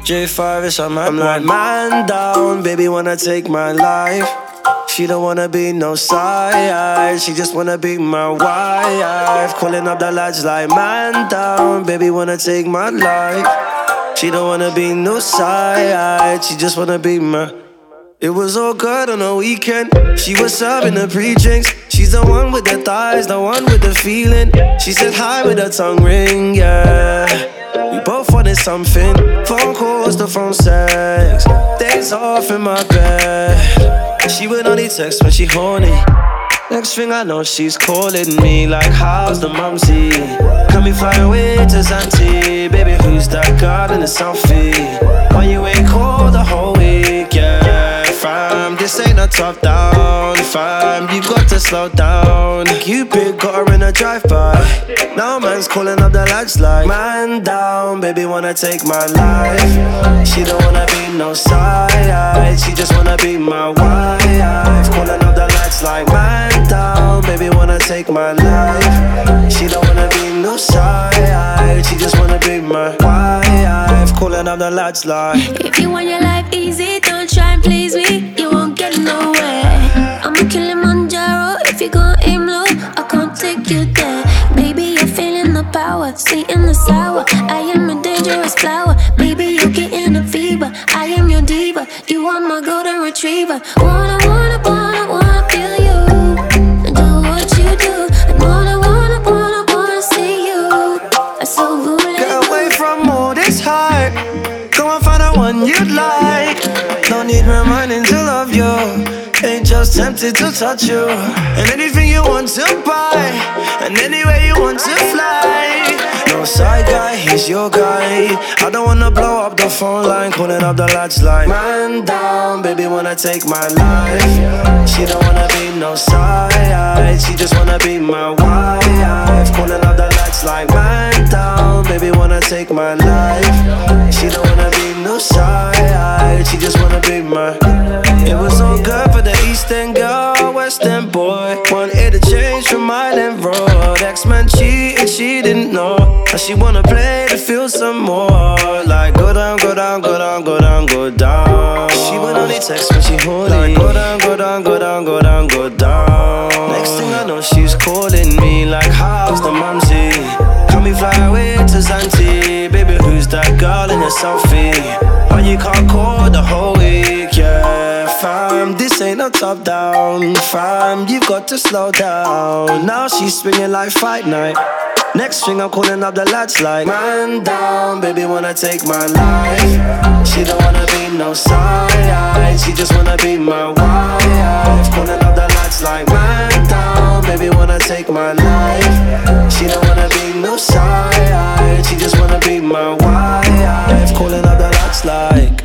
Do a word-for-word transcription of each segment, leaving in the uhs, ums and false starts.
J five is on my I'm like, man down, baby wanna take my life. She don't wanna be no side, she just wanna be my wife. Calling up the lads like, man down, baby wanna take my life. She don't wanna be no side, she just wanna be my. It was all good on the weekend. She was serving the pre-drinks. She's the one with the thighs, the one with the feeling. She said hi with her tongue ring, yeah. We both wanted something. Phone calls, the phone sex. Days off in my bed. She would only text when she horny. Next thing I know, she's calling me like, how's the mumsy? Can we fly away to Zante? Baby, who's that girl in the selfie? Why you ain't called the whole week, yeah? Fam, this ain't a top down. Fam, you got to slow down. Cupid got her in a drive-by. Now man's calling up the lads like, man down, baby wanna take my life. She don't wanna be no side, she just wanna be my wife. Calling up the lads like, man down, baby wanna take my life. She don't wanna be no side, she just wanna be my wife. Calling up the lads like, if you want your life easy, don't try and please me, you won't get nowhere. I'm a Kilimanjaro, if you gon' aim low, I can't take you there. Baby, you're feeling the power, sweet and the sour. I am a dangerous flower, baby, you're getting a fever. I am your diva, you are my golden retriever. Wanna, wanna, wanna, wanna feel you, and do what you do. And wanna, wanna, wanna, wanna see you. I'm so good. Get away from all this hype, go and find the one you'd like. Don't need reminding to love you, ain't just tempted to touch you. And anything you want to buy, and anywhere you want to fly. No side guy, he's your guy. I don't wanna blow up the phone line, calling up the lads like, man down, baby wanna take my life. She don't wanna be no side, she just wanna be my wife. Calling up the lads like, man down, baby wanna take my life. She don't wanna be no side, she just wanna be my. It was all good for the East End girl, West End boy. Wanted to change from Island Road. X-Men cheated, she didn't know. Now she wanna play to feel some more. Like go down, go down, go down, go down, go down. She would only text when she horny. Like go down, go down, go down, go down, go down. Next thing I know, she's calling me like, how's the mumsy? Can we fly away to Zante? Baby, who's that girl in the selfie? Why you can't call the whole week, yeah? Fam, this ain't no top down. Fam, you've got to slow down. Now she's swinging like fight night. Next thing I'm calling up the lads like, man down, baby wanna take my life. She don't wanna be no side, she just wanna be my wife. Calling up the lads like, man down, baby wanna take my life. She don't wanna be no side, she just wanna be my wife. Calling up the lads like.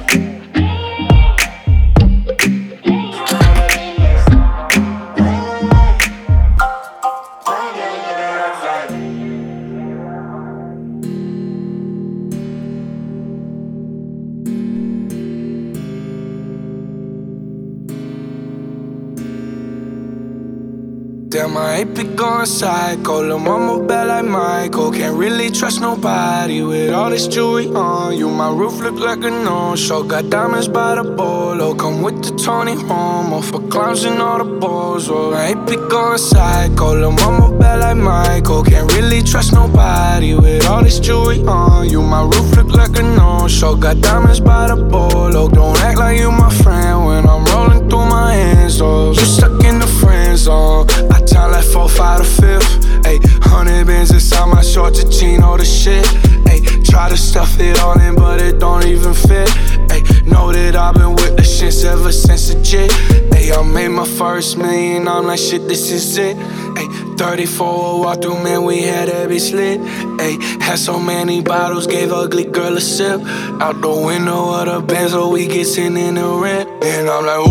Damn, I ain't been going psycho. Lil' mama bad like Michael. Can't really trust nobody with all this jewelry on you. My roof look like a no-show. Got diamonds by the bolo. Come with the Tony Romo for clowns and all the balls. Oh, I ain't been going psycho. Lil' mama bad like Michael. Can't really trust nobody with all this jewelry on you. My roof look like a no-show. Got diamonds by the bolo. Don't act like you my friend when I'm rolling through my hands. Oh, you stuck in the friend zone. I time like four, five, to fifth. Ayy, hundred bands inside my shorts, a jean, all the shit. Ayy, try to stuff it all in, but it don't even fit. Ayy, know that I've been with the shits ever since a jit. Ayy, I made my first million, I'm like, shit, this is it. Ayy, thirty-four walk through, man, we had that bitch lit. Ayy, had so many bottles, gave ugly girl a sip. Out the window of the Benz, so we get sent in the rent. And I'm like,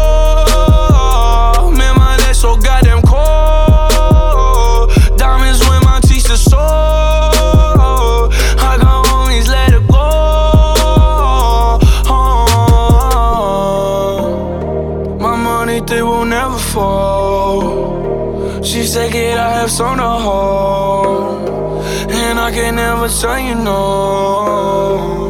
whoa, man, my neck so goddamn cold. Diamonds when my teeth are sore. I got homies, let it go. Oh, my money, they will never fall. She said, kid, I have some to hold, and I can never tell you no.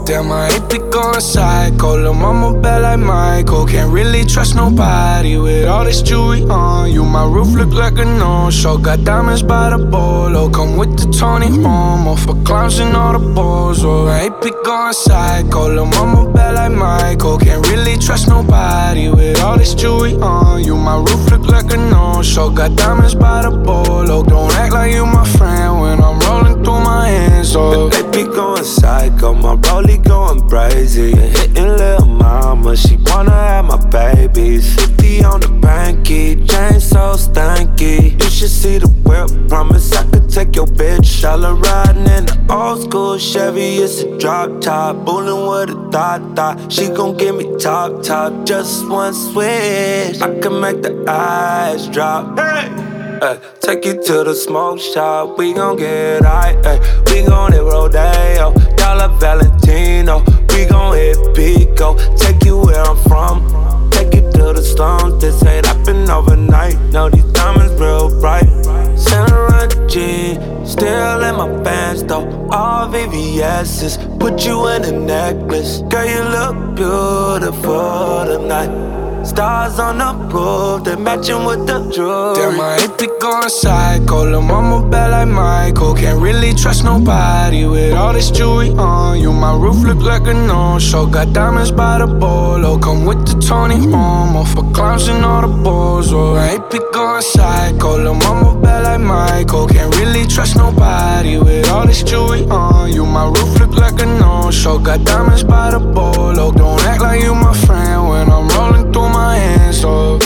Damn, I hate to go psycho. Lil' mama bad like Michael. Can't really trust nobody with all this jewelry on you. My roof look like a no-show. Got diamonds by the bolo. Come with the Tony Momo for clowns and all the balls. Oh, I hate to go psycho. Lil' mama bad like Michael. Can't really trust nobody with all this jewelry on you. My roof look like a no-show. Got diamonds by the bolo. Don't act like you my friend when I'm rolling through my hands. Oh, they be going psycho. My rollie going crazy and hitting lil' mama. She wanna have my babies. fifty on the banky, chain so stanky. You should see the whip. Promise I could take your bitch. All her riding in the old school Chevy. It's a drop top, bullin' with a thought thought. She gon' give me top top, just one switch. I can make the eyes drop. Hey. Ay, take you to the smoke shop, we gon' get high, ay. We gon' hit Rodeo, Dollar Valentino. We gon' hit Pico, take you where I'm from. Take you to the slums, this ain't happen overnight. Know these diamonds real bright. Saint Laurent jeans, still in my pants though. All V V S's, put you in a necklace. Girl, you look beautiful tonight. Stars on the roof, they matching with the jewelry. Damn, I hate to go psycho. Lil' mama bad like Michael. Can't really trust nobody with all this jewelry on you. My roof look like a no-show. Got diamonds by the bolo. Come with the Tony Momo for clowns and all the balls. Oh, I hate to go psycho. Lil' mama bad like Michael. Can't really trust nobody with all this jewelry on you. My roof look like a no-show. Got diamonds by the bolo. Don't act like you my friend when I'm rolling through my hands, oh.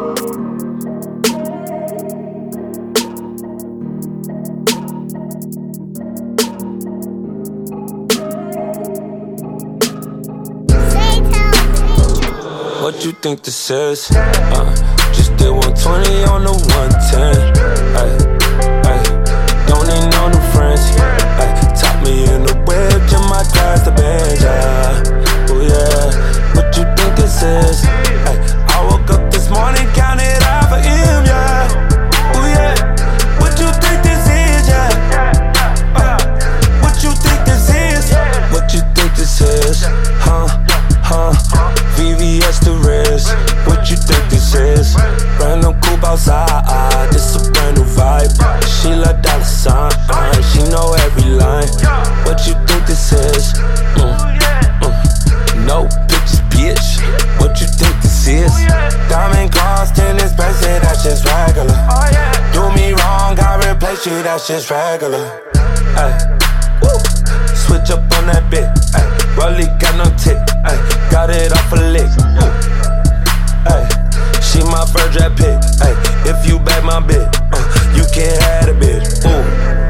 What you think this is? Uh, just did one twenty on the one ten. Ay, ay, don't need no new friends. Ay, top me in the whip, just my drive the bench. Uh, oh yeah, what you think this is? Ay, I woke up this morning, counted half a M, yeah. Oh yeah, what you think this is? Yeah. Uh, what you think this is? What you think this is? Huh? Huh? V V S the wrist. What you think this is? Brand new coupe outside. This a brand new vibe. She like dollar sign. She know every line. What you think this is? Mm, mm. No pictures, bitch. What you think this is? Diamond cross, tennis bracelet, that's just regular. Do me wrong, I replace you, that's just regular. Ay. Woo. Switch up on that bit. Ay. Rollie got no tip. Ay. Got it off a lick. Ay. She my first draft pick. Ay. If you back my bit, uh, you can't have a bit. Ooh.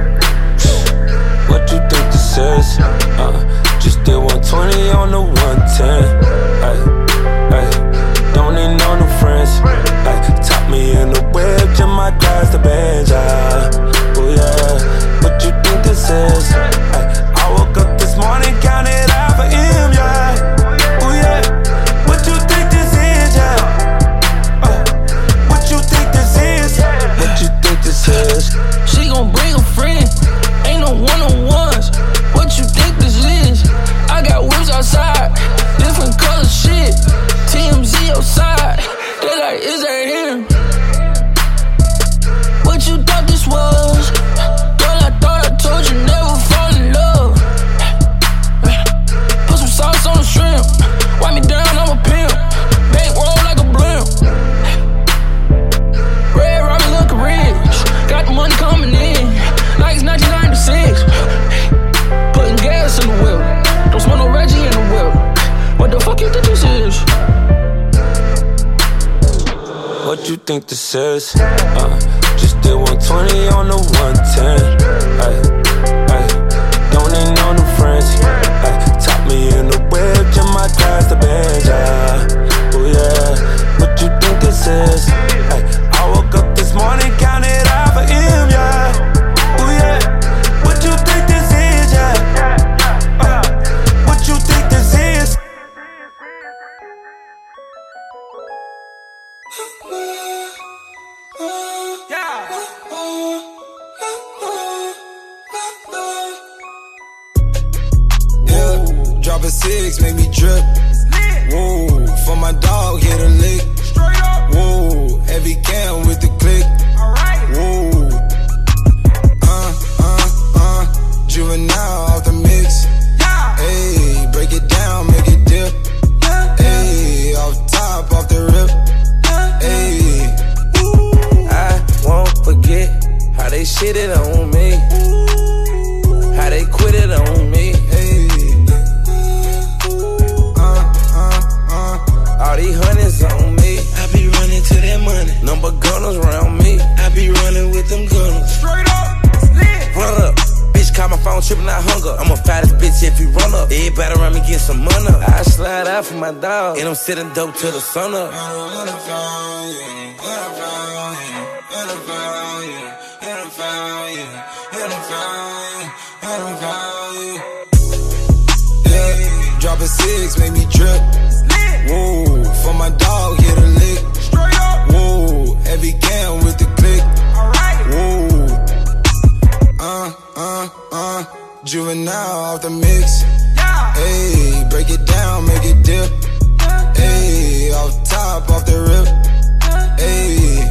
What you think this is? Uh, just did one twenty on the one ten. Ay. Ay. Don't need no new friends. Ay. Top me in the whip, just my drive the bench. Oh yeah. What you think this is? Ay. I woke up this morning, counted half a M, yeah. Oh yeah. What you think this is, yeah? Uh, what you think this is? What you think this is? She gon' bring a friend, ain't no one-on-ones. What you think this is? I got whips outside, different color shit. T M Z outside, they like, is that him? What you thought this was? Girl, I thought I told you never fall in love. Put some sauce on the shrimp, wipe me down, I'm a pimp. Bankroll like a blimp. Red Robin looking rich, got the money coming in like it's nineteen ninety-six. Putting gas in the whip, don't smell no Reggie in the whip. What the fuck you think this is? What you think this is? Uh, just did one twenty on the one ten. Ay, ay, don't need no new friends. Ay, top me in the whip, just my drive the bench. Oh yeah, what you think this is? Ay, I woke up this morning, counted half a M, yeah. Oh yeah, what you think this is? Yeah. Uh, what you think this is? Yeah. six, make me drip. Whoa, for my dog, hit a lick. Whoa, heavy cam with the click. Whoa, uh, uh, uh, juvenile off the mix. Ayy, break it down, make it dip. Ayy, off top, off the rip. Ayy, I won't forget how they shitted on me. How they quit it on me. All these hundreds on me. I be running to that money. Number gunners around me. I be running with them gunners. Straight up, run up. Bitch, call my phone, tripping out hunger. I'm a fattest bitch if you run up. Everybody around me get some money. I slide out for my dog, and I'm sitting dope till the sun up. Yeah, drop a six, make me drip. Whoa, for my dog, hit a lick. Whoa, heavy cam with the click. Whoa, uh, uh, uh, juvenile off the mix. Ayy, break it down, make it dip. Ayy, off top, off the rip. Ayy.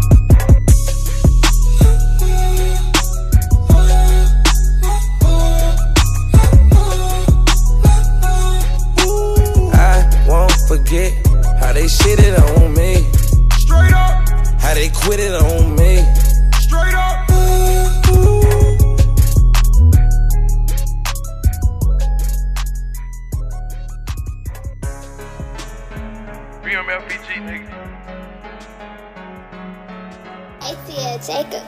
Forget how they shitted on me. Straight up. How they quit it on me. Straight up. B M L P G, nigga. A T L Jacob.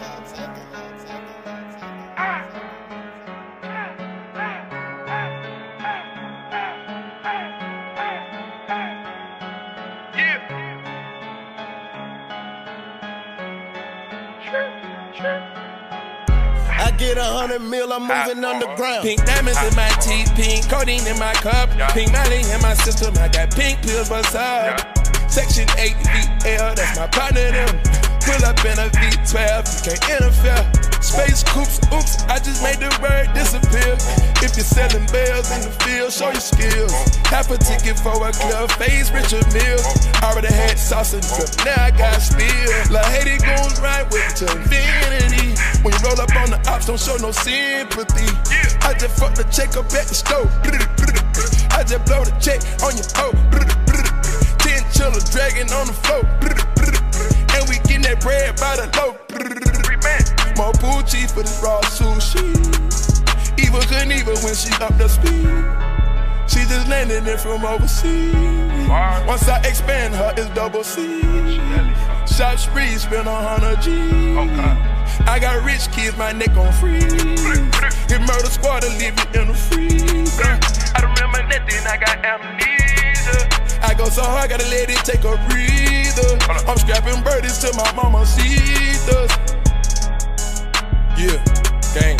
I get a hundred mil, I'm moving underground. Pink diamonds in my teeth, pink codeine in my cup, pink Molly in my system. I got pink pills, what's up? Section eight V L, that's my partner. Them pull up in a V twelve, you can't interfere. Space coops, oops, I just made the word disappear. If you're selling bells in the field, show your skills. Half a ticket for a club, phase Richard Mill. Already had sauce and drip, now I got spill. La Haiti goes right with it to infinity. When you roll up on the ops, don't show no sympathy. I just fuck the check up at the stove. I just blow the check on your hoe. Ten chillers dragging on the floor. And we getting that bread by the loaf. More Poochie for this raw sushi. Eva couldn't even when she up the speed. She just landed in from overseas. Once I expand her, it's double C. Shop spree, spend a hundred G. I got rich kids, my neck on free. Hit murder squad to leave you in the freezer. I remember nothing, I got amnesia. I go so hard, gotta let it take a breather. I'm scrapping birdies till my mama sees us. Yeah, gang.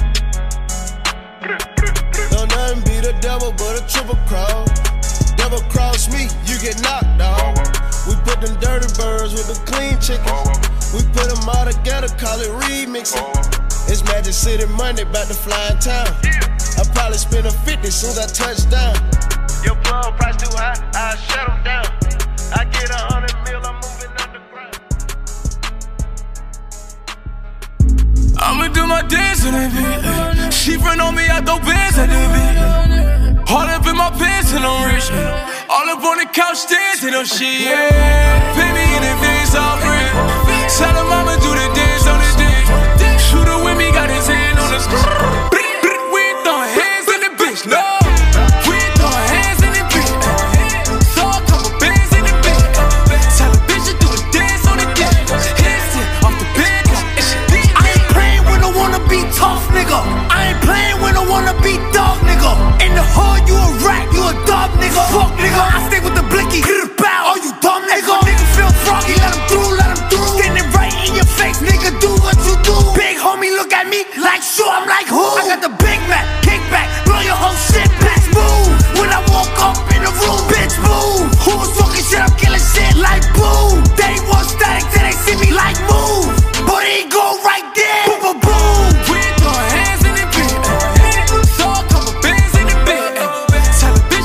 Don't nothing be the devil but a triple cross. Devil cross me, you get knocked out. We put them dirty birds with the clean chickens. We put them all together, call it remixing. It's Magic City Monday, about to fly in town. I probably spend a fifty soon as I touch down. Your plug price too high, I shut them down. I get a hundred mil, I'm moving underground. I'ma do my dance in that beat. She run on me, I throw bands at that beat. All up in my pants and I'm rich. All up on the couch dancing on shit. Pay me in advance, I'll bring. Tell her mama do the dance on the dick. Shooter with me, got his hand on the screen. We ain't throwing hands in the bitch, no. We ain't throwing hands in the bitch. Saw a couple bands in the bitch. Tell a bitch to do a dance on the dick. Hands in off the bed. I ain't playing when I wanna be tough, nigga. I ain't playing when I wanna be dog, nigga. In the hood, you a rat, you a dog, nigga. Fuck, nigga, I stay with the blicky. Hit it bow. Oh, you dumb, nigga. Nigga feel froggy, let him through, let him through. Standing right in your face, nigga, do what you do. Big homie, look at me like sure, I'm like who? I got the Big Mac, kick back, blow your whole shit back. Move when I walk up in the room, bitch, move. Who was talking shit? I'm killing shit like boom. They want static till they see me like move. But it go right there, boom, boom, boom. We ain't throwing hands in the bitch. Saw a couple bands in the bitch. Tell a bitch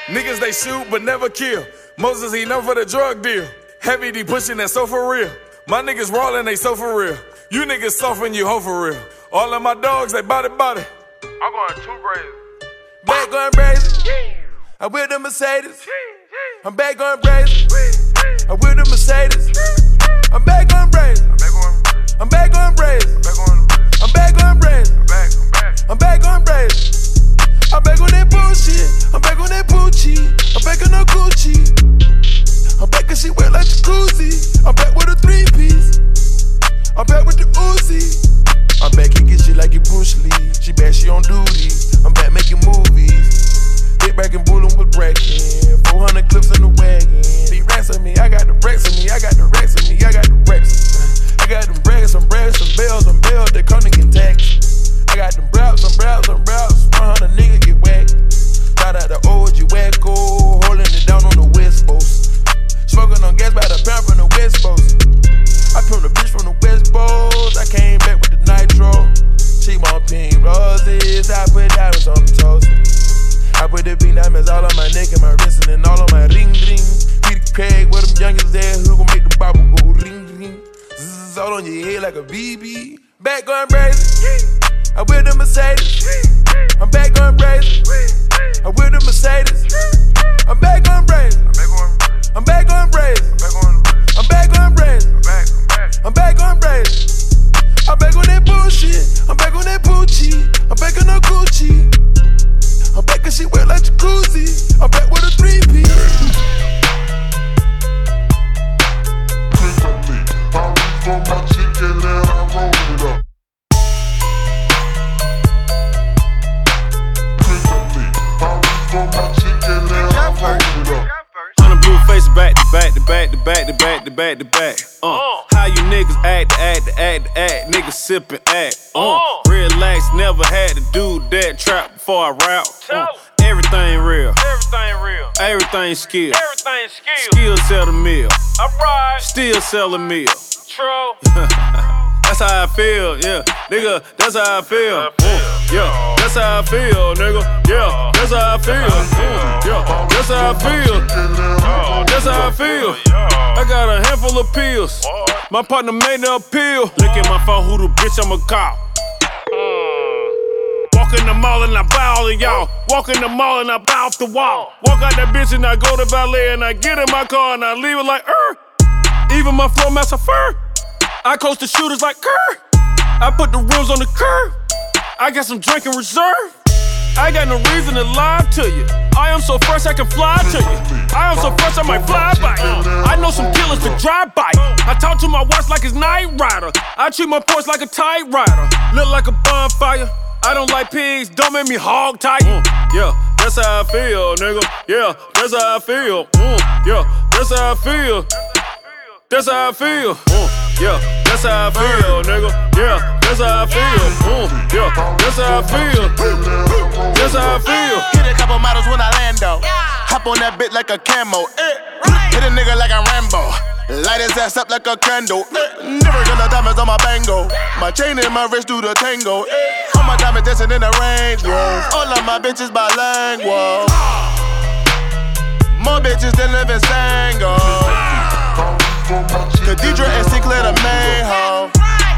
Niggas they shoot but never kill. Moses he known for the drug deal. Heavy D pushing that so for real. My niggas rollin' they so for real. You niggas soft when you hoe for real. All of my dogs they body body. I'm going too crazy. Back going crazy. I'm with the Mercedes. I'm back going crazy. I'm with the Mercedes. I'm back going crazy. I'm back going crazy. I'm back going crazy. I'm back going crazy. I'm back on that bullshit. I'm back on that Gucci. I'm back on no Gucci. I'm back 'cause she wet like jacuzzi. I'm back with a three piece. I'm back with the Uzi. I'm back kicking shit like it Bruce Lee. She back, she on duty. I'm back making movies. Hit back and bullin' with Bracken. four hundred clips in the wagon. They ransom me, I got the racks on me. I got the racks on me, I got the racks. I got them brags, some brags, some bells, some bells that come to get taxed. I got them brows, some brows, some brows. one hundred niggas get whacked. Shout out the O G Wacko, holding it down on the West Coast. Smoking on gas by the pound from the West Coast. I pimped the bitch from the West Coast. I came back with the nitro. She want pink roses. I put diamonds on the toast. I put the pink diamonds all on my neck and my wrist and all on my ring ring. Peter Craig with them youngins there who gon' make the bobble go ring ring. Zzz, all on your head like a B B. Back going crazy. I with the Mercedes. I'm back going crazy. I with the Mercedes. I'm back going crazy. I'm back going crazy. I'm back going crazy. I'm back on crazy. I'm back on that bullshit. I'm back on that Gucci. I'm back on no Gucci. I'm back 'cause she wet like jacuzzi. I'm back with a three piece. I reach for my chicken and I roll it up. On the blue face back to back to back to back to back to back to back. Uh, how you niggas act, act, act, act, niggas sippin' act. Uh, relax, never had to do that trap before I rap. Uh, everything real, Everything real. everything skill. Everything skill. Still sell the meal, Alright. still sell the meal. True. That's how I feel, yeah, nigga. That's how I feel, mm, yeah. That's how I feel, nigga. Yeah, that's how I feel, mm, yeah. That's how I feel. That's how I feel. I got a handful of pills. My partner made the appeal. Look at my phone, who the bitch I'ma call? Walk in the mall and I buy all of y'all. Walk in the mall and I buy off the wall. Walk out that bitch and I go to valet and I get in my car and I leave it like er. Even my floor master fur. I coach the shooters like Kerr. I put the rims on the curb. I got some drink in reserve. I got no reason to lie to you. I am so fresh I can fly to you. I am so fresh I might fly by you. I know some killers to drive by. I talk to my watch like it's Night Rider. I treat my Porsche like a typewriter. Look like a bonfire. I don't like pigs, don't make me hog tight. Mm, yeah, that's how I feel, nigga. Yeah, that's how I feel. Mm, yeah, that's how I feel. That's how I feel. Mm, yeah, that's how I feel, nigga. Yeah, that's how I feel. Mm, yeah, that's how I feel. That's how I feel. Hit a couple models when I land though. Hop on that bit like a camo. Hit a nigga like a Rambo. Light his ass up like a candle. Never gonna diamonds on my bango. My chain and my wrist do the tango. All my diamonds dancing in the rain. All of my bitches bilingual. More bitches than live in Sango. Khadidra and Sinclair the main hoe.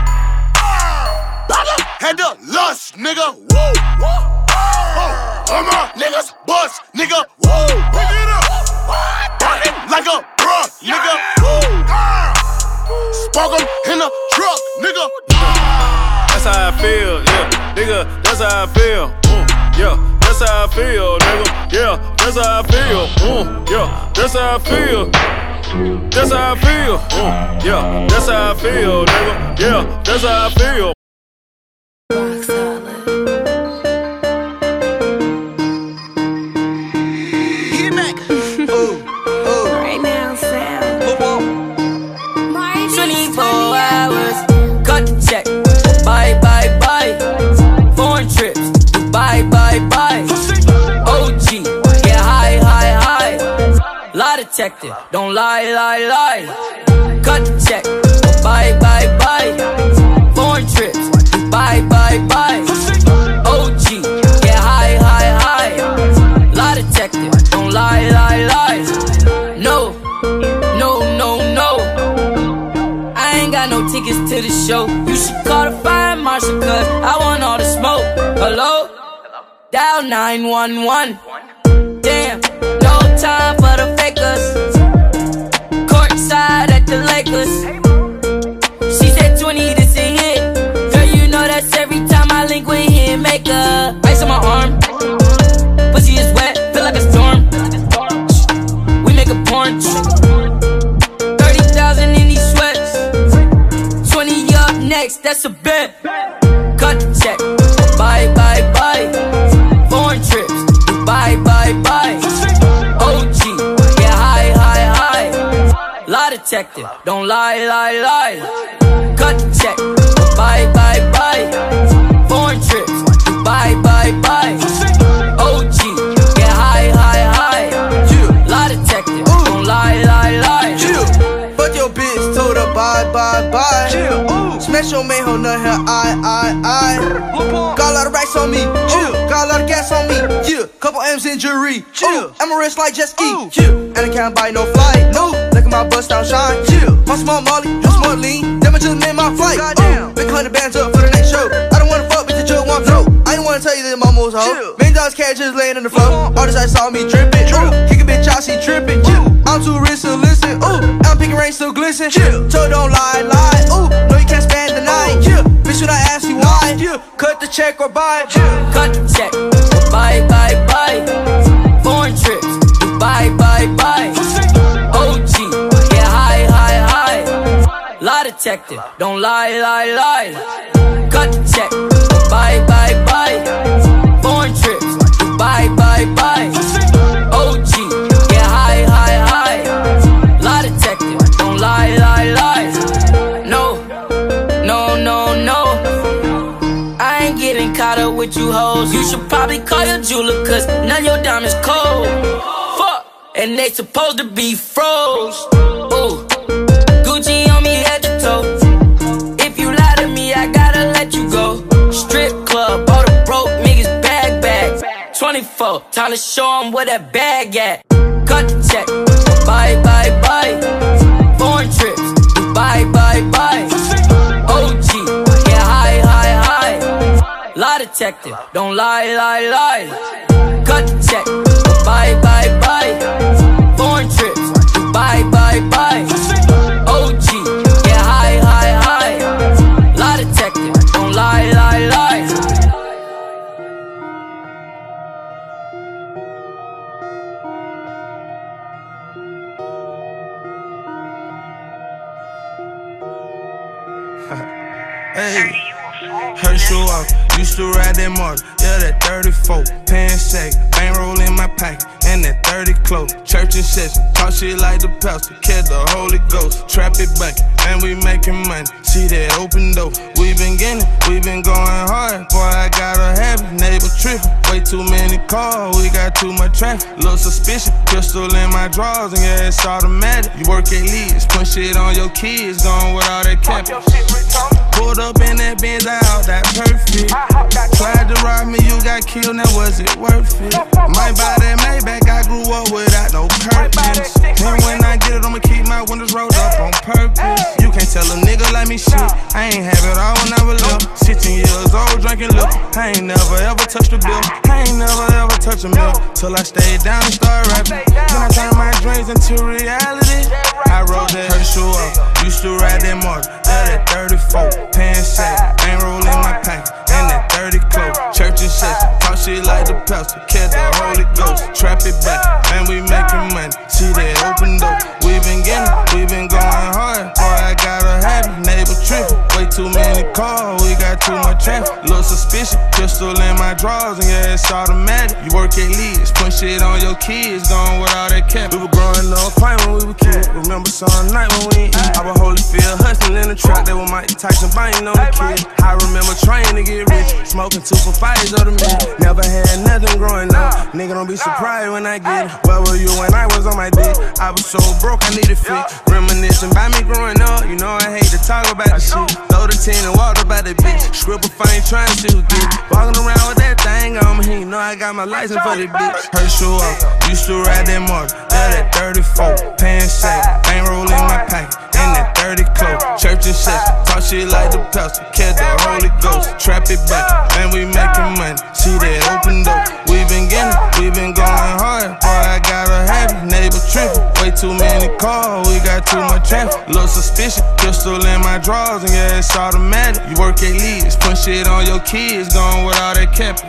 Had the lust, nigga. Woo, woo. All my niggas bust, nigga. Woo. Pick it up. Barking like a bruh, nigga. Woo. Spark 'em in the truck, nigga. That's how I feel, yeah, nigga. That's how I feel. Mm, yeah, that's how I feel, nigga. Yeah, that's how I feel. Mm, yeah, that's how I feel. That's how I feel. Mm, yeah, that's how I feel, nigga. Yeah, that's how I feel. Get back. Ooh, ooh. Right now, Sam. twenty-four hours, cut the check. Bye, bye, bye. Foreign trips, bye, bye, bye. O G, get high, high, high. Lie detector, don't lie, lie, lie. Cut the check, bye, bye, bye. Foreign trips, bye, bye, bye. O G, get high, high, high. Lie detector, don't lie. no tickets to the show. You should call the fire marshal, cause I want all the smoke. Hello? Dial nine one one. Damn, no time for the fakers. Courtside at the Lakers. She said twenty, this a hit. Girl, you know that's every time I link with him. Make a ice on my arm. Pussy is wet, feel like a storm. We make a porn. thirty thousand in these sweats. twenty up next, that's a bet. Cut the check. Bye, bye, bye. Foreign trips. Bye, bye, bye. O G, yeah, high, high, high. Lie detector, don't lie, lie, lie. Cut the check. Bye, bye, bye. Foreign trips. Bye, bye, bye. O G, yeah, high, high, high. Lie detector, don't lie, lie, lie. Fuck your bitch, told her bye, bye, bye. Smash your main hoe, nut her eye, eye, eye. Got a lot of racks on me, chill. Got a lot of gas on me, yeah. Couple M's in jewelry, chill. I'm a wrist like jet ski, chill. And I can't buy no flight, no. Look at my bust down shine, chill. My small molly, you smart lean. Damn, I just made my flight. Goddamn, big hundred bands up for the next show. I don't wanna fuck, bitch, the joke won't throw. I ain't wanna tell you that my mo's hoe. Million dollars cash just laying in the floor. All this I saw me dripping, ooh. Kick a bitch out, she tripping, chill. I'm too rich to listen, ooh. I'm picking rain, still glisten, chill. So don't lie, lie, ooh. No, you can't spend the night, yeah. Bitch, when I ask you why, yeah. Cut the check or buy, yeah. Cut the check. Bye, bye, bye. Foreign trips. Bye, bye, bye. O G, yeah, high, high, high. Lie detector, don't lie, lie, lie. Cut the check. Bye, bye, bye. Foreign trips. Bye, bye, bye. O G, yeah, high, high, high. Lie detector, don't lie, lie, lie. No, no, no, no. I ain't getting caught up with you hoes. You should probably call your jeweler, cause none of your diamonds cold. Fuck, and they supposed to be froze. Ooh, Gucci on me head to toe. If you lie to me, I gotta let you go. Strip club, all the broke niggas bag bags. twenty-four, time to show them where that bag at. Cut the check. Bye, bye, bye. Foreign trips. Bye, bye, bye. O G, yeah, high, high, high. Lie detector, don't lie, lie, lie. Cut the check. Bye, bye, bye. Foreign trips. Bye, bye, bye. O G, yeah, high, high, high. Lie detector, don't lie, lie, lie. Hey, Herschel off, used to ride that motor, yeah, that thirty-four, pan sack, bankroll in my pocket, and that thirty close. Church and session, talk shit like the pastor, catch the Holy Ghost, trap it back, and we making money. See that open door, we been getting, we been going hard. Boy, I gotta have it, neighbor tripping, way too many cars, we got too much traffic. Little suspicion, pistol in my drawers, and yeah, it's automatic. You work at least, put shit on your kids, going with all that cap. Pulled up in that Benz out, that perfect. Tried to rob me, you got killed, now was it worth it? Might buy that Maybach, I grew up without no curtains. And when I get it, I'ma keep my windows rolled up on purpose. You can't tell a nigga like me shit, I ain't have it all when I was little. sixteen years old, drinking liquor, I ain't never ever touched a bill. I ain't never ever touched a meal, till I stayed down and started rapping. Then I turned my dreams into reality. I rode that Herschel up, used to ride that motor, yeah, that thirty-four. Pan sack, bankroll in my pocket, and that thirty close. Church and session, talk shit like the pastor, catch the Holy Ghost. Trap it back, and we making money. See that open door, we been getting, we been going hard. Boy, I gotta have it, neighbor tripping, way too many cars, we got too much traffic. Little suspicion, pistol in my drawers, and yeah, it's automatic. You work at least, put shit on your kids, going with all that cap. We were growing up fine when we were kids. Remember some night when we ain't eat. I was Holyfield hustling in the trap, they were Mike Tyson biting on the kid. I remember trying to get rich, smoking two for fives of the mint. Never had nothing growing up, nigga don't be surprised when I get it. Where were you when I was on my dick? I was so broke, I needed fit. Reminiscing by me growing up, you know I hate to talk about the shit. Throw the tin and walk about that bitch. Scribble fine trying to see who get it. Walking around with that thing on me, you know I got my license for this bitch. Herschel up, used to ride that motor, yeah, that thirty-four. Pan sack, bankroll in my pocket, and that thirty close. Church and sex, talk shit like the pastor, catch the Holy Ghost. Trap it back, man, we making money. See that open door. We been getting, we been going hard. Boy, I gotta have it. Neighbor tripping, way too many cars. We got too much traffic. Little suspicion, pistol in my drawers, and yeah, it's automatic. You work at leads, put shit on your kids, going with all that capping.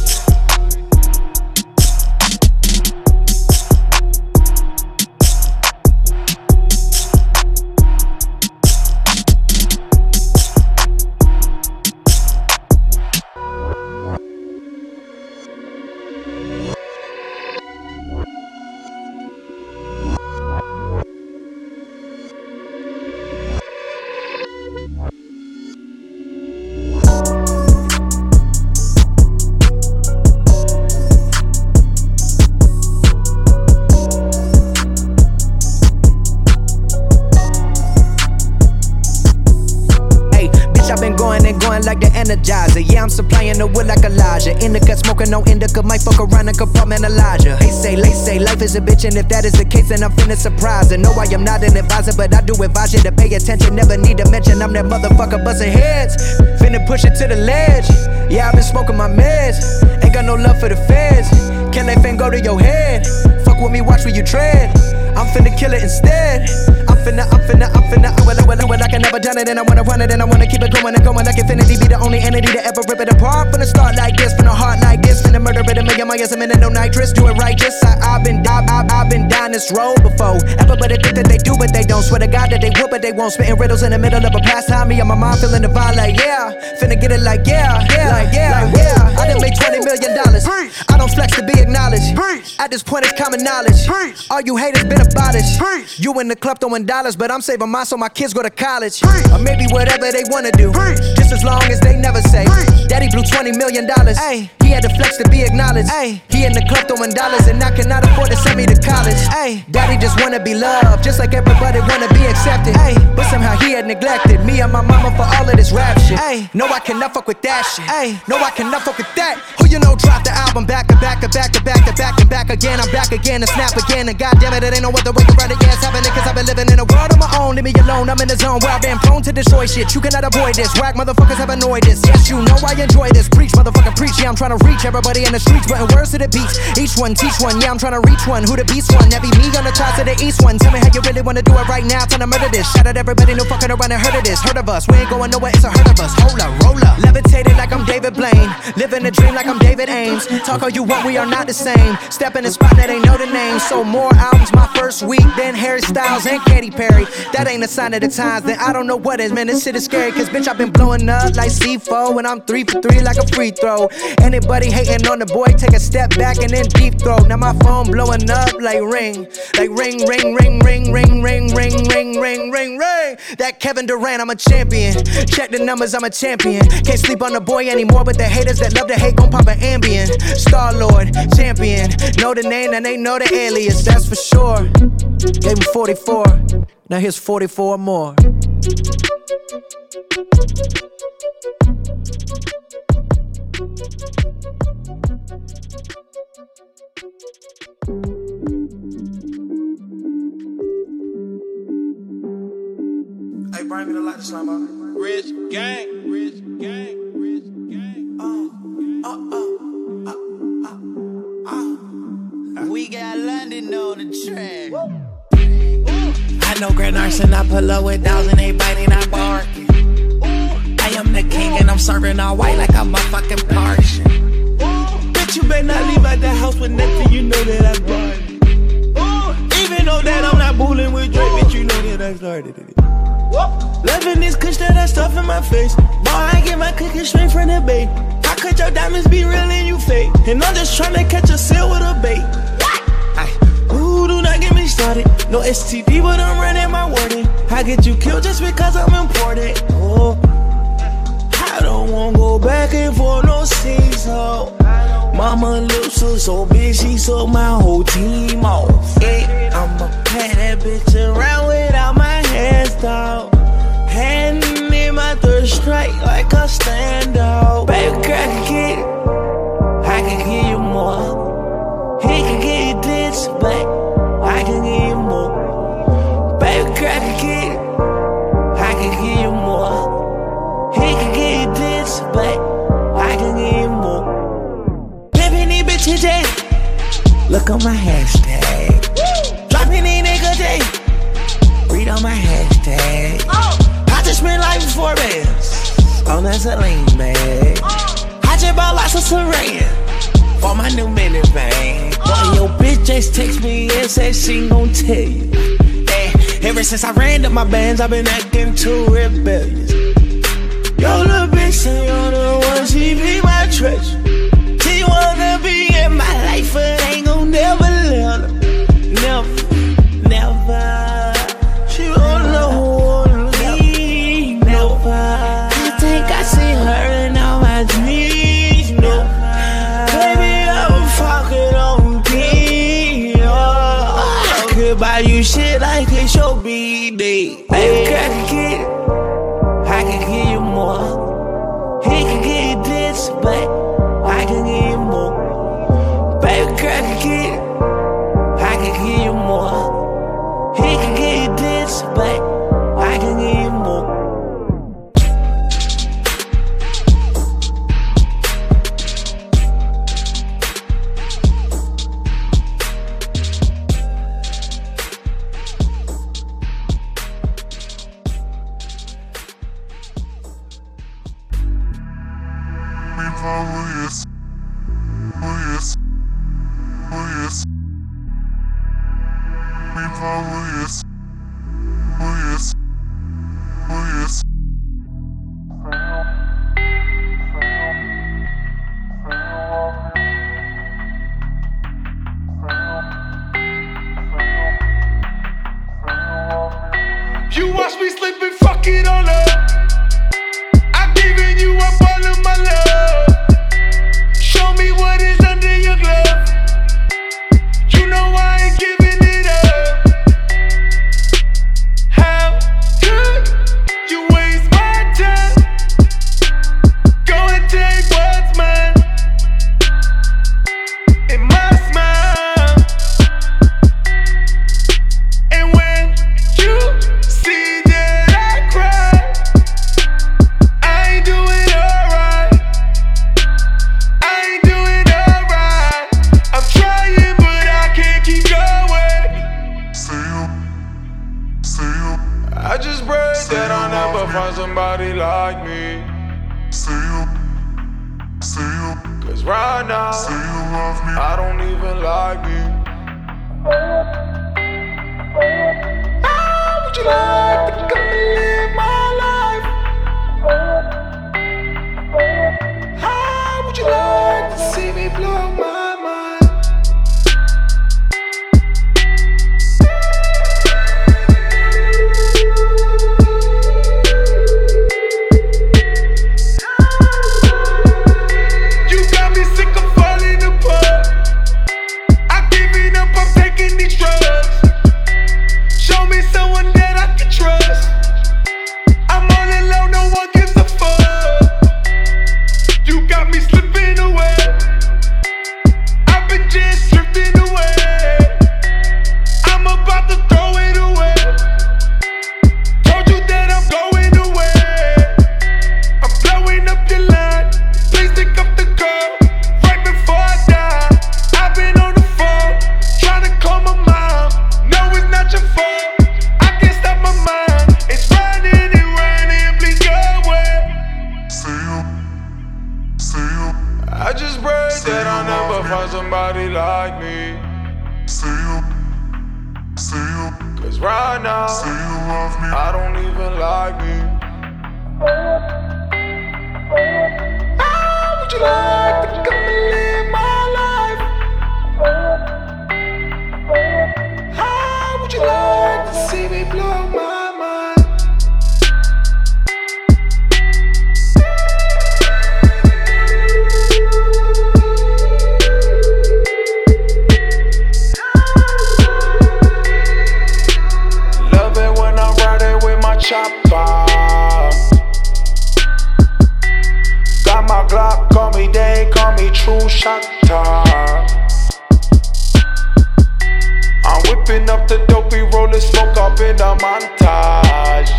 Like the Energizer, yeah, I'm supplying the wood like Elijah. Indica smoking, no indica, might fuck around and compartment Elijah. They say, they say, life is a bitch, and if that is the case, then I'm finna surprise her. No, I am not an advisor, but I do advise you to pay attention. Never need to mention I'm that motherfucker busting heads. Finna push it to the ledge. Yeah, I've been smoking my meds. Ain't got no love for the feds. Can they fin go to your head? Fuck with me, watch where you tread. I'm finna kill it instead. I'm finna, I'm finna, I'm finna, I will, I will, I will, like I never done it, and I wanna run it, and I wanna keep it going and going like infinity. Be the only entity to ever rip it apart. Finna start like this, finna heart like this, finna murder it a million miles a minute, no nitrous. Do it righteous. I, I've been, I, I, I've been down this road before. Everybody think that they do, but they don't. Swear to God that they would, but they won't. Spitting riddles in the middle of a pastime. Me and my mom feeling divine, like yeah. Finna get it like yeah, yeah, like yeah, like, yeah. I done made twenty million dollars. I don't flex to be acknowledged. At this point, it's common knowledge. All you haters been abolished. You in the club throwing dollars, but I'm saving mine so my kids go to college. Or maybe whatever they wanna do. Just as long as they never say Daddy blew twenty million dollars. Ay, he had the flex to be acknowledged. Ay, he in the club throwing dollars, and I cannot afford to send me to college. Ay, Daddy just wanna be loved, just like everybody wanna be accepted. Ay, but somehow he had neglected me and my mama for all of this rap shit. Ay, no, I cannot fuck with that shit. Ay, no, I cannot fuck with that. Who you know dropped the album back to back to back to back to back and back again. I'm back again and snap again, and goddamn it, it ain't no other way to run it. Yeah, it's happening cause I've been living in a world of my own. Leave me alone, I'm in the zone where I've been prone to destroy shit. You cannot avoid this. Whack motherfuckers have annoyed this. Yes, you know I enjoy this. Preach, motherfucker, preach. Yeah, I'm trying to reach everybody in the streets, putting words to the beats. Each one, teach one. Yeah, I'm trying to reach one. Who the beast one? That be me on the charts to the east one. Tell me how you really wanna do it right now. Trying to murder this. Shout out everybody, no fucking around and heard of this. Heard of us. We ain't going nowhere, it's a hurt of us. Hold up, roll up. Levitated like I'm David Blaine. Living a dream like I'm David Ames. Talk all you want, we are not the same. Step in the spot that ain't know the name. So more albums my first week than Harry Styles and Katy Perry. That ain't a sign of the times, then I don't know what is. Man, this shit is scary, cause bitch, I've been blowing up like C four, and I'm three for three like a free throw. Anybody hating on the boy, take a step back and then deep throw. Now my phone blowing up like ring, like ring, ring, ring, ring, ring, ring, ring, ring, ring, ring, ring. That Kevin Durant, I'm a champion. Check the numbers, I'm a champion. Can't sleep on the boy anymore, but the haters that love to hate gon' pop an Ambien. Star Lord, champion. Know the name and they know the alias, that's for sure. Gave him forty-four, now here's forty-four more. Hey, bring me the light to slime out. Rich gang, rich gang, rich gang. Oh, oh, oh, oh, oh, oh. We got London on the track. I know Grand Arson, I pull up with thousand, they biting, I barking. I am the king and I'm serving all white like I'm a fucking Parisian. Bitch, you better not leave out the house with nothing, you know that I brought it. Even though that I'm not bullying with Drake, bitch, you know that I started it. Loving this kush that I stuff in my face. Boy, I get my cookie straight from the bay. How could your diamonds be real and you fake? And I'm just trying to catch a seal with a bait. What? Ooh, do not get me started. No S T D, but I'm running my wording. I get you killed just because I'm important. Oh, I don't wanna go back and forth, no seesaw. Mama lips are so big, she sold my whole team off. Yeah, I'ma pat that bitch around without my hands down. Hand in my third strike like a standout. Baby girl, I can get it. I can give you more. He can get you this, but I can give you more. Baby girl, I can get it. on my hashtag. Dropping these niggas day. Read on my hashtag. I just spent like four bands on that Celine bag. I just bought lots of Saran for my new minivan. Boy, your bitch just text me and said she gon' tell you. Hey, ever since I ran up my bands, I've been acting too rebellious. Yo, little bitch say you're the one, she be my treasure. She wanna be in my life, but ain't gon' never let her. Never, never. She wanna wanna leave, never. I think I see her in all my dreams, no. Baby, I'm fucking on P. Oh, I could buy you shit like it's your B-Day. Baby, I can get it. I can give you more. He can give you this, but I can give you more. Baby girl can get it. I can give you more. He can give you this, but I can give you more. You watch me slip and fuck it all up. I'm giving you up all of my love. Show me what is under your glove. You know I ain't giving it up. How could you waste my time? Go and take what's mine. In my smile. And when you see that I cry, I ain't doing alright. I ain't doing alright. I'm trying, but I can't keep going. See you, see you. I just pray see that I'll never find somebody like me. See you, see you. Cause right now, see you love me. I don't even like me. How would you like to come and live my life? How would you like to see me blow my mind? You got me sick of falling apart. I'm giving up, I'm taking these drugs. Show me someone that I can trust. I'm all alone, no one gives a fuck. You got me slipping away. I've been just drifting away. I'm about to throw it away. Told you that I'm going away. I'm blowing up your line. Please pick up the call right before I die. I've been on the phone trying to call my mom. No, it's not your fault. I can't stop my mind. It's raining and raining. Please go away. See you, see you. I just pray see that I'll never find somebody like me. See you, see you. Cause right now, see you love me. I don't even like me. How would you like to come and live my life? How would you like to see me blow my mind? Love it when I'm riding with my chopper. Got my Glock, call me Day, call me True Shotter. I'm whipping up the dopey, rolling smoke up in the montage.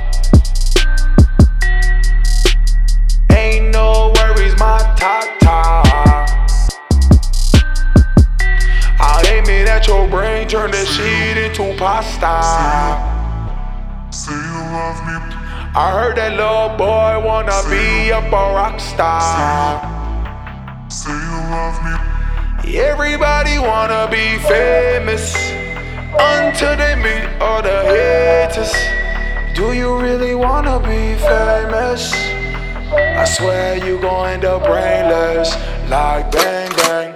Ain't no worries, my ta-ta. Out here star. Say you love me. I heard that little boy wanna be up a rock star. Say you love me. Everybody wanna be famous until they meet all the haters. Do you really wanna be famous? I swear you gon' end up brainless, like bang bang.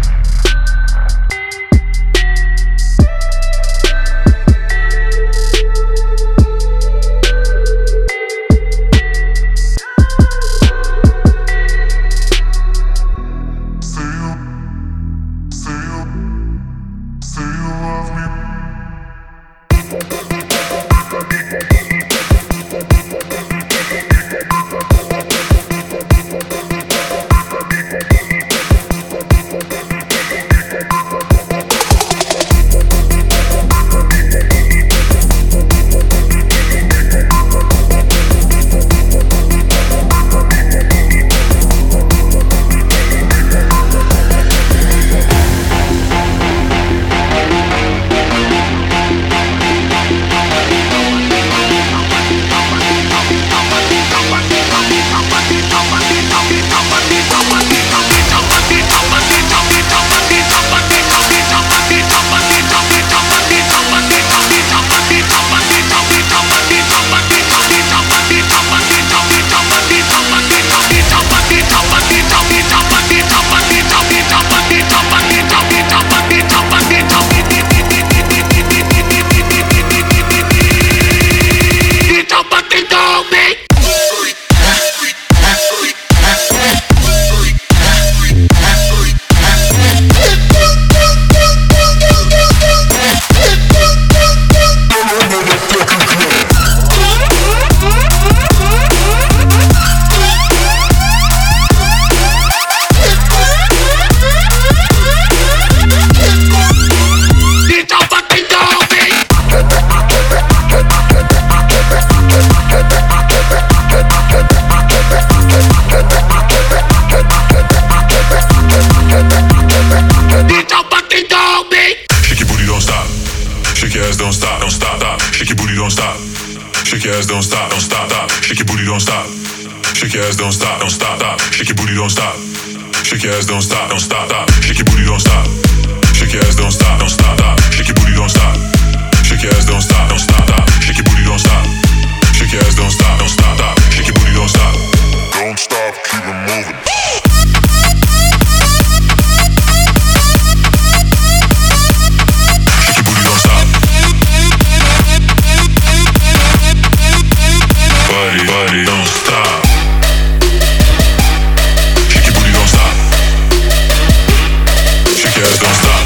Don't stop, don't stop, stop. Shake your booty, don't stop. Shake your ass, don't stop, don't stop, stop. Shake your booty, don't stop. Shake your ass, don't stop, don't stop, stop. Shake your booty, don't stop. Shake your ass, don't stop, don't stop, stop. Shake your booty, don't stop. Shake your ass, don't stop, don't stop, stop. Shake your booty, don't stop. Shake your ass, don't stop, don't stop, stop. Shake your booty, don't stop. Don't stop, keep it moving. Buddy, buddy, don't stop. Shake your booty, don't stop. Shake your ass, don't stop.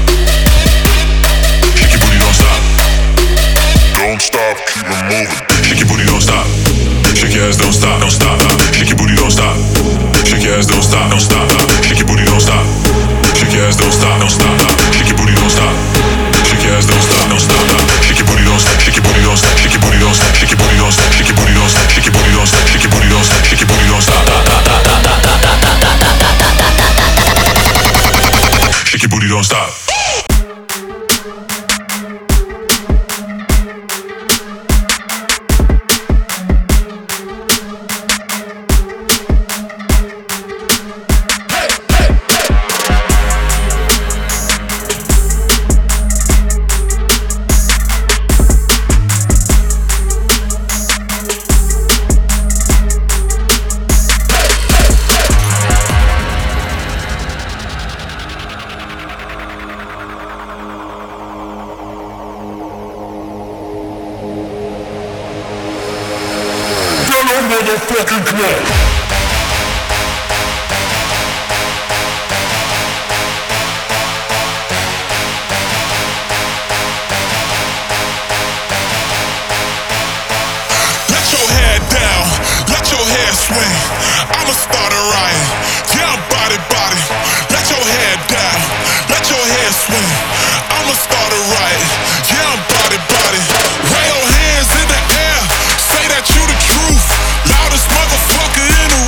Shake your booty, don't stop. Don't stop, keep it moving. Shake your booty, don't stop. Shake your ass, don't stop, don't stop, stop. Shake your booty, don't stop. Shake your ass, don't stop, don't stop, stop. Shake your booty, don't stop. Shake your ass, don't stop, don't stop, stop. Shake your booty, don't stop. Shake your ass, don't stop, don't stop, stop. Shake your booty, don't stop. Shake your booty, don't stop. Shake your booty, don't stop. Shake your booty, don't stop. Shake your booty, don't stop. Shake your booty, don't stop. Shake your booty, don't stop. Shake your booty, don't stop. Shake your booty, don't stop. Motherfucking club. swing. I'ma start a riot. Yeah, I'm body, body. Let your head down. Let your head swing. I'ma start a riot. Yeah, I'm body, body. Wave your hands in the air. Say that you the truth. Loudest motherfucker in the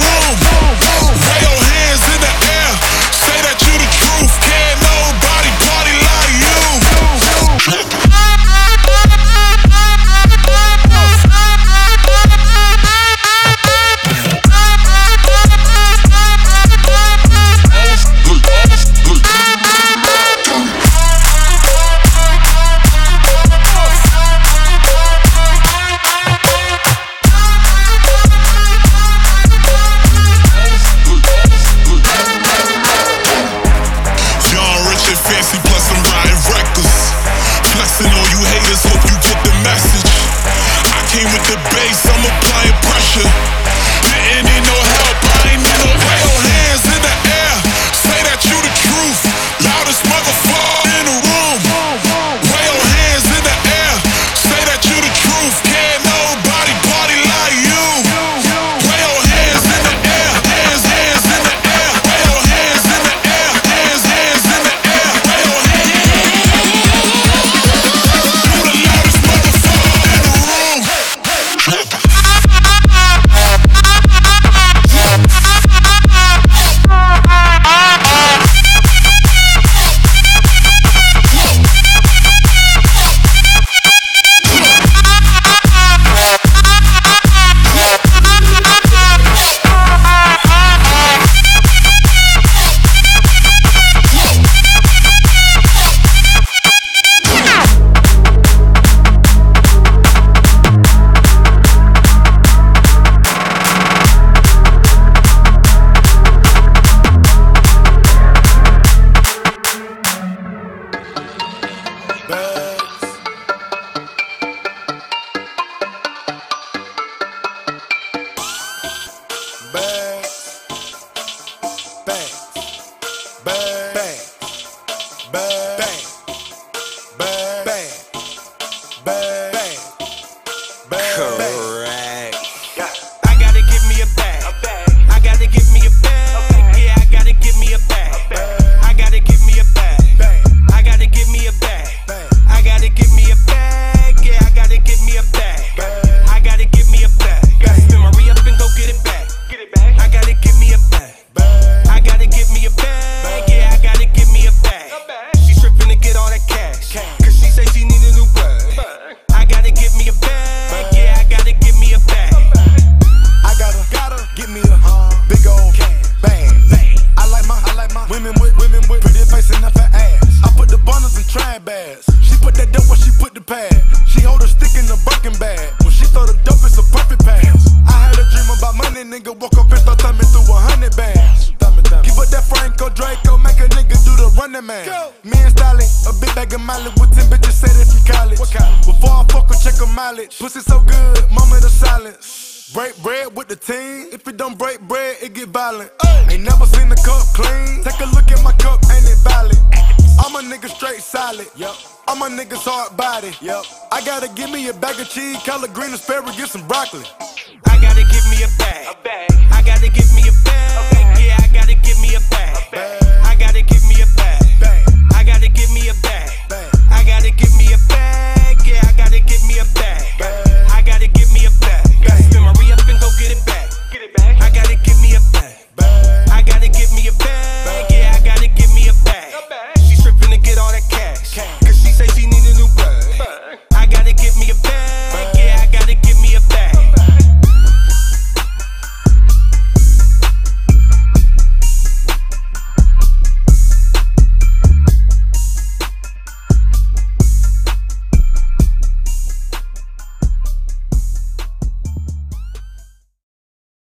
college. Pussy so good, moment of silence. Break bread with the team. If it don't break bread, it get violent. Ain't never seen the cup clean. Take a look at my cup, ain't it valid? I'm a nigga straight solid. Yep. I'm a nigga's hard body. Yep. I gotta give me a bag of cheese, collard green, asparagus, and broccoli.